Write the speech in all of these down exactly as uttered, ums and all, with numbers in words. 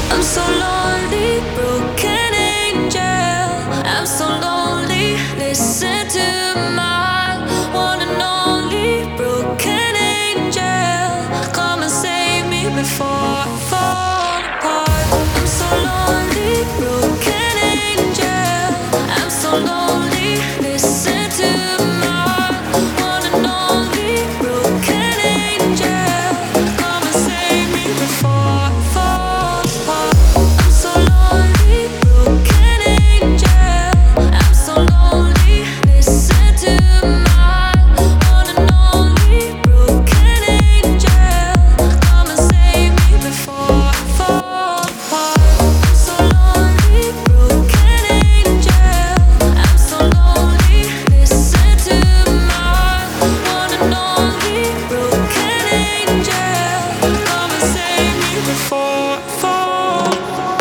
I'm so lonely, broken angel. I'm so lonely. Listen to my one and only broken angel. Come and save me before I fall apart. I'm so lonely, broken angel. I'm so lonely. Listen to my one and only broken angel. Come and save me before I fall apart. I'm so lonely, broken angel. I'm so lonely. Listen to my one and only broken angel. Come and save me before I fall apart. I'm so lonely, broken angel. I'm so lonely. Listen to my one and only broken angel. Come and save me before I fall apart.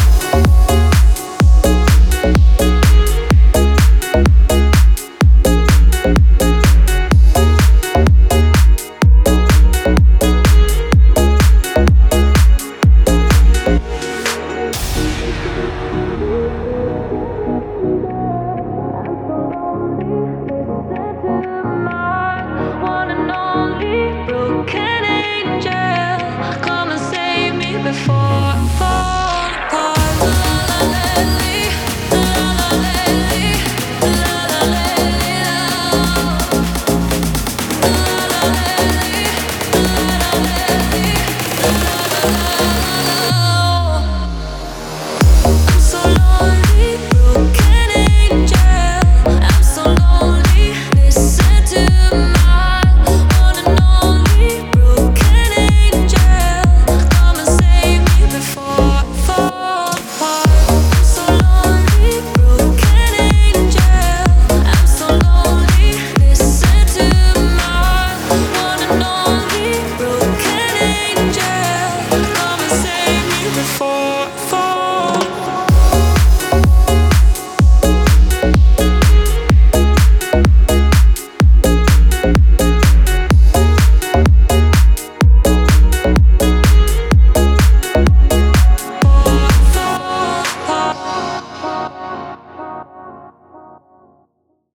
One and only broken angel, come and save me before I fall.